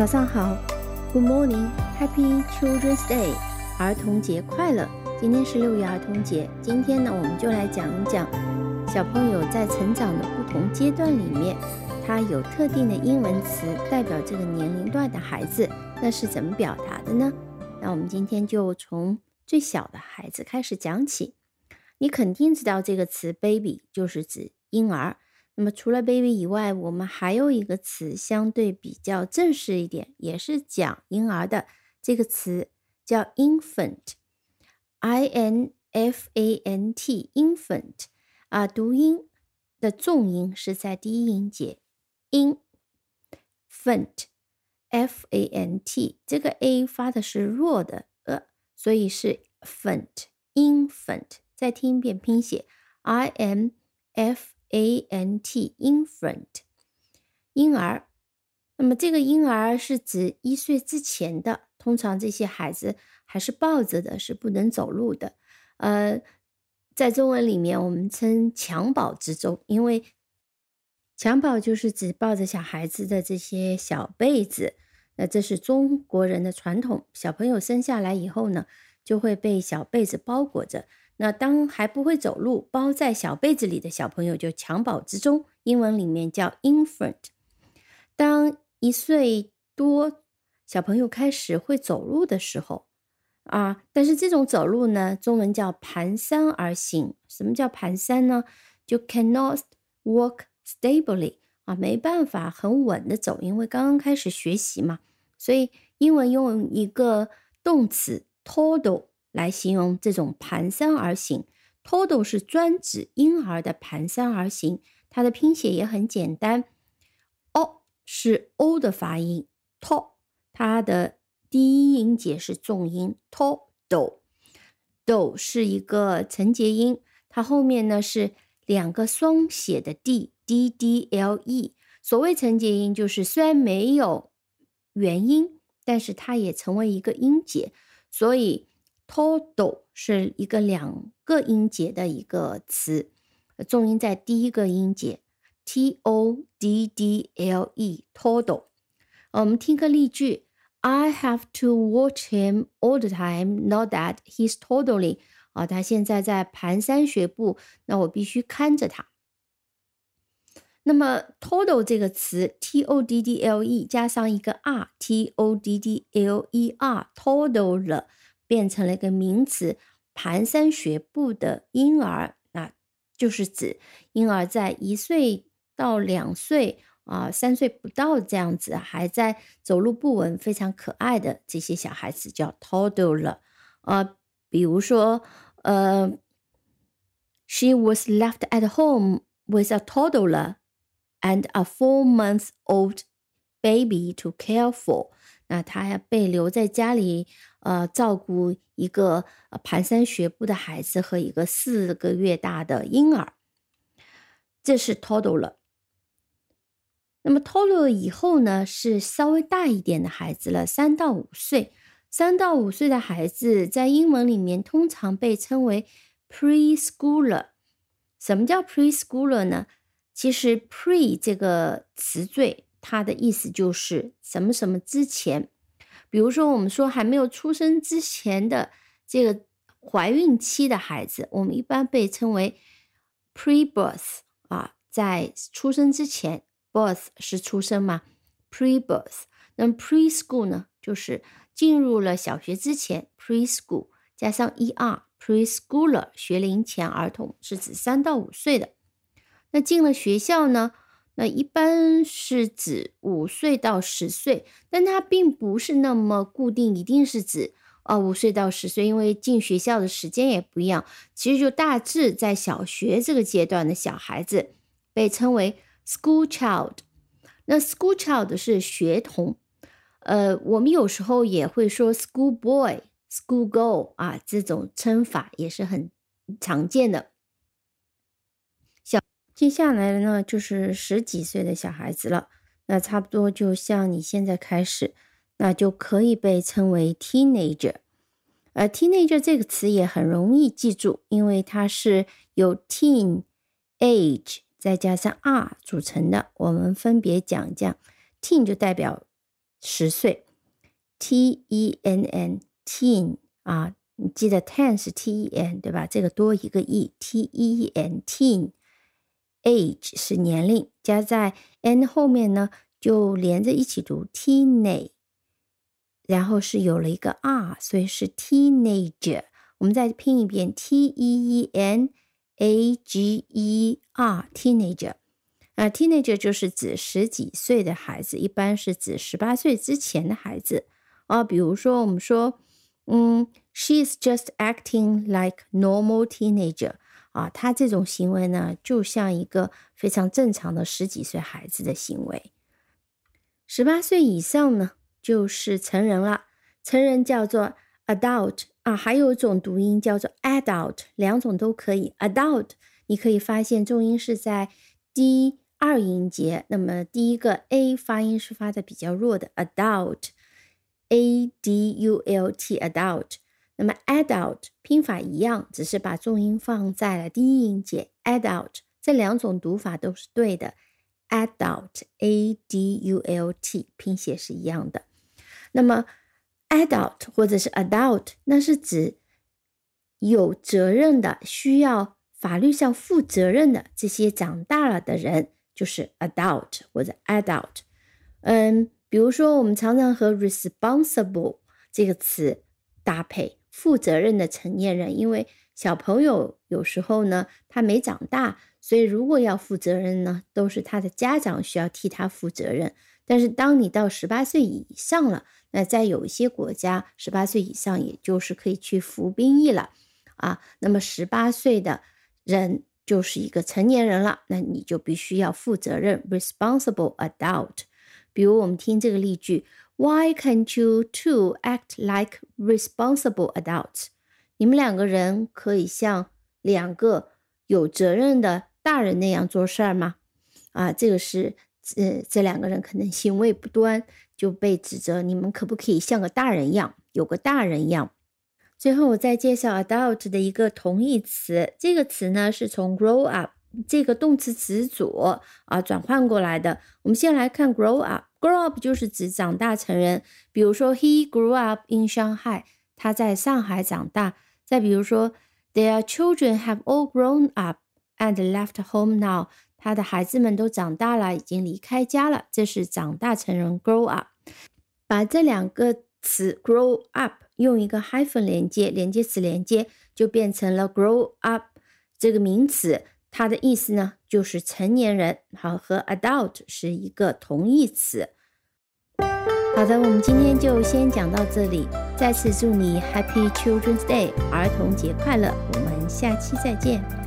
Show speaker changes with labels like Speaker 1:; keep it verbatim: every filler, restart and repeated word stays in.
Speaker 1: 早上好 ，Good morning, Happy Children's Day， 儿童节快乐！今天是六一儿童节，今天呢，我们就来讲一讲小朋友在成长的不同阶段里面，他有特定的英文词代表这个年龄段的孩子，那是怎么表达的呢？那我们今天就从最小的孩子开始讲起。你肯定知道这个词 baby 就是指婴儿。那么除了 baby 以外，我们还有一个词相对比较正式一点，也是讲婴儿的，这个词叫 infant I N F A N T infant 啊，读音的重音是在第一音节 infant F A N T， 这个 A 发的是弱的呃，所以是 fant infant， 再听一遍拼写 I N F A N T infant 婴儿。那么这个婴儿是指一岁之前的，通常这些孩子还是抱着的，是不能走路的。呃，在中文里面我们称襁褓之中，因为襁褓就是指抱着小孩子的这些小被子，那这是中国人的传统。小朋友生下来以后呢，就会被小被子包裹着。那当还不会走路，包在小被子里的小朋友就襁褓之中，英文里面叫 infant。 当一岁多小朋友开始会走路的时候啊，但是这种走路呢，中文叫蹒跚而行。什么叫蹒跚呢？就 cannot walk stably 啊，没办法很稳的走，因为刚刚开始学习嘛，所以英文用一个动词 toddle 来形容这种蹒跚而行。 toddle 是专指婴儿的蹒跚而行，它的拼写也很简单 O 是 O 的发音 to， 它的第一音节是重音 toddle， do 是一个承接音，它后面呢是两个双写的 d d d l e。 所谓承接音就是虽然没有元音，但是它也成为一个音节，所以toddle 是一个两个音节的一个词，重音在第一个音节 T O D D L E toddle。 我们听个例句 I have to watch him all the time, not that he's toddling。 啊，他现在在蹒跚学步，那我必须看着他。那么 toddle 这个词 T O D D L E 加上一个 R T O D D L E R toddle 了，变成了一个名词，蹒跚学步的婴儿，那就是指婴儿在一岁到两岁啊、三岁不到这样子，还在走路不稳、非常可爱的这些小孩子叫 toddler。呃，比如说，呃 ，She was left at home with a toddler and a four-month-old baby to care for。那他被留在家里，呃，照顾一个、呃、蹒跚学步的孩子和一个四个月大的婴儿，这是 toddler。那么 toddler 以后呢，是稍微大一点的孩子了，三到五岁。三到五岁的孩子在英文里面通常被称为 preschooler。什么叫 preschooler 呢？其实 pre 这个词缀，它的意思就是什么什么之前。比如说我们说还没有出生之前的这个怀孕期的孩子，我们一般被称为 pre-birth 啊，在出生之前 birth 是出生嘛 pre-birth。 那么 preschool 呢，就是进入了小学之前 preschool 加上 er preschooler 学龄前儿童，是指三到五岁的。那进了学校呢，那一般是指五岁到十岁，但它并不是那么固定，一定是指呃五岁到十岁，因为进学校的时间也不一样。其实就大致在小学这个阶段的小孩子被称为 school child。 那 school child 是学童，呃，我们有时候也会说 school boy、school girl 啊，这种称法也是很常见的。接下来呢，就是十几岁的小孩子了，那差不多就像你现在开始，那就可以被称为 teenager。 呃 teenager 这个词也很容易记住，因为它是由 teen age 再加上 r 组成的，我们分别讲讲。 teen 就代表十岁 ，T E N N teen 啊，你记得 ten 是 T E N 对吧？这个多一个 E，T E N teen age 是年龄，加在 n 后面呢就连着一起读 teenage， 然后是有了一个 r， 所以是 teenager。我们再拼一遍 T E E N A G E R teenager。啊 teenager 就是指十几岁的孩子，一般是指十八岁之前的孩子啊。比如说我们说，嗯 ，she is just acting like normal teenager 啊，她这种行为呢，就像一个非常正常的十几岁孩子的行为。十八岁以上呢，就是成人了，成人叫做 adult 啊，还有一种读音叫做 adult， 两种都可以。adult 你可以发现重音是在第二音节，那么第一个 A 发音是发的比较弱的 adult A D U L T adult， 那么 adult 拼法一样，只是把重音放在了第一音节 adult， 这两种读法都是对的， adult A D U L T 拼写是一样的。那么 adult 或者是 adult 那是指有责任的，需要法律上负责任的这些长大了的人，就是 adult 或者 adult。 嗯，比如说我们常常和 responsible 这个词搭配，负责任的成年人，因为小朋友有时候呢他没长大，所以如果要负责任呢，都是他的家长需要替他负责任。但是当你到十八岁以上了，那在有一些国家十八岁以上也就是可以去服兵役了啊，那么十八岁的人就是一个成年人了，那你就必须要负责任 responsible adult。 比如我们听这个例句， Why can't you two act like responsible adults？ 你们两个人可以像两个有责任的大人那样做事吗？啊，这个是呃，这两个人可能行为不端，就被指责你们可不可以像个大人一样，有个大人一样。最后我再介绍 adult 的一个同义词，这个词呢是从 grow up 这个动词词组啊转换过来的。我们先来看 grow up， grow up 就是指长大成人，比如说 he grew up in Shanghai， 他在上海长大。再比如说 their children have all grown up and left home now， 他的孩子们都长大了，已经离开家了，这是长大成人 grow up。 把这两个词 grow up 用一个 hyphen 连接，连接词连接，就变成了 grow up 这个名词，它的意思呢就是成年人，好，和 adult 是一个同义词。好的，我们今天就先讲到这里，再次祝你 Happy Children's Day 儿童节快乐，我们下期再见。